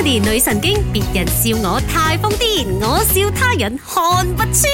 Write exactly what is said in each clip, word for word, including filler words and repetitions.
Melody 女神經，別人笑我太瘋癲，我笑他人看不穿。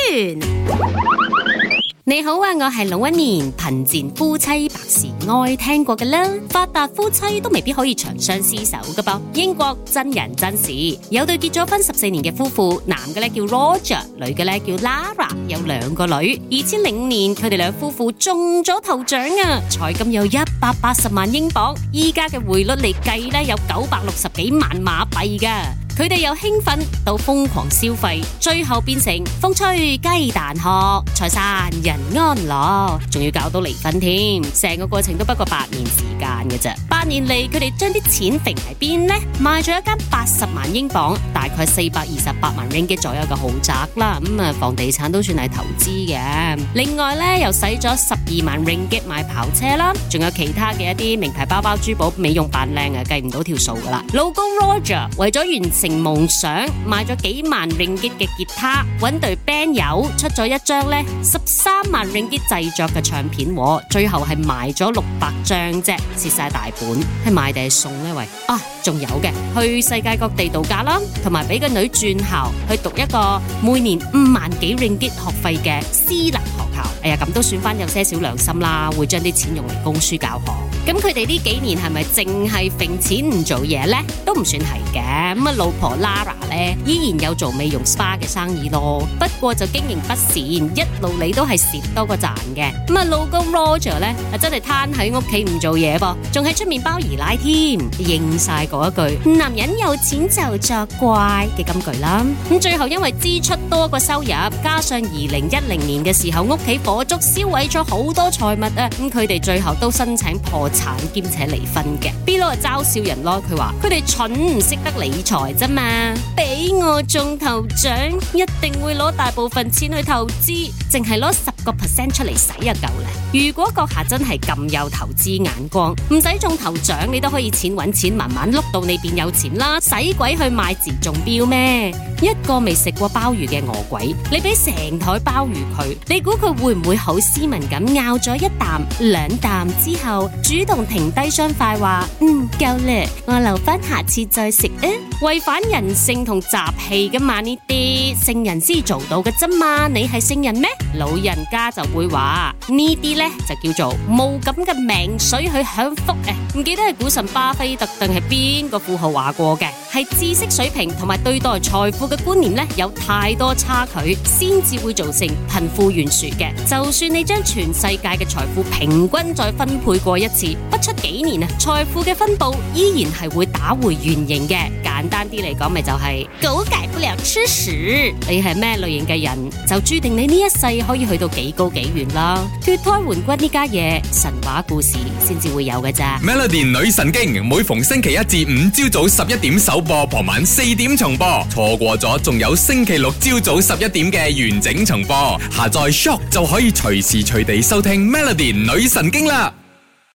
你好啊，我係龍紋敏，貧賤夫妻百事哀聽過嘅啦，發達夫妻都未必可以長相廝守噶噃。英國真人真事，有對結咗婚十四年嘅夫婦，男嘅咧叫 Roger， 女嘅咧叫 Lara， 有兩個女。二千零五年佢哋兩夫婦中咗頭獎啊，彩金有一百八十萬英鎊，依家嘅匯率嚟計咧有九百六十幾萬馬幣噶。佢哋由興奮到瘋狂消費，最後變成風吹雞蛋殼，財散人安樂，仲要搞到離婚添。成個過程都不過八年時間嘅啫。八年嚟，佢哋將啲錢揈喺邊呢？賣咗一間八十萬英鎊，大概四百二十八萬 ringgit 左右嘅豪宅啦。咁、嗯、啊，房地產都算係投資嘅。另外咧，又使咗十二萬 ringgit 買跑車啦，仲有其他嘅一啲名牌包包、珠寶、美容扮靚啊，計唔到條數噶啦。老公 Roger 為咗完成夢想，買咗幾萬 ringgit 嘅吉他，揾隊 band 友出咗一張咧十三萬 ringgit 製作嘅唱片，最後係賣咗六百張啫，蝕晒大本。係賣定係送呢？喂啊，仲有嘅，去世界各地度假啦，同埋俾個女轉校去讀一個每年五萬幾 ringgit 學費嘅私立學校。哎呀，咁都算翻有些少良心啦，會將啲錢用嚟供書教學。咁佢哋呢幾年係咪淨係揈錢唔做嘢呢？都唔算係嘅。咁啊，老婆 Lara 咧依然有做美容 spa 嘅生意咯，不過就經營不善，一路你都係蝕多過賺嘅。咁啊，老公 Roger 咧啊真係攤喺屋企唔做嘢噃，仲喺出面包二奶添，應晒嗰一句男人有錢就作怪嘅金句啦。咁最後因為支出多過收入，加上二零一零年嘅時候屋企火燭燒毀咗好多財物啊，咁佢哋最後都申請破產兼且離婚嘅。B 佬就嘲笑人咯，佢話佢哋蠢唔識得理財啫嘛，俾我中頭獎一定會攞大部分錢去投資，淨係攞十個 percent 出嚟使就夠啦。如果閣下真係咁有投資眼光，唔使中頭獎你都可以錢搵錢慢慢碌到你變有錢啦，使鬼去買字中標咩？一個未食過鮑魚嘅餓鬼，你俾成台鮑魚佢，你估佢會唔會好斯文咁咬咗一啖兩啖之後主動停低雙筷話嗯夠啦，我留翻下次再食啊？違反人性同習氣噶嘛，呢啲聖人先做到嘅啫嘛，你係聖人咩？老人家就會話呢啲呢就叫做冇咁嘅命水去享福啊！唔記得係股神巴菲特定係邊個富豪話過嘅，係知識水平同埋對待財富嘅觀念呢有太多差距，先至會造成貧富懸殊嘅。就算你將全世界嘅財富平均再分配過一次，不出幾年啊，財富嘅分布依然係會打回原形嘅。簡單啲嚟講，咪就係狗改不了吃屎。你係咩類型嘅人，就注定你呢一世可以去到幾高幾遠啦。脫胎換骨呢家嘢，神話故事先至會有嘅咋。 Melody 女神經每逢星期一至五朝早十一點首播，傍晚四點重播。錯過咗，仲有星期六朝早十一點嘅完整重播。下載 Shock 就可以隨時隨地收聽 Melody 女神經啦。